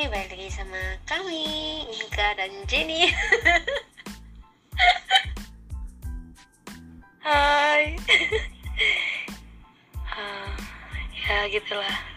balik lagi sama kami, Inka dan Jenny. Hai. Ya gitulah.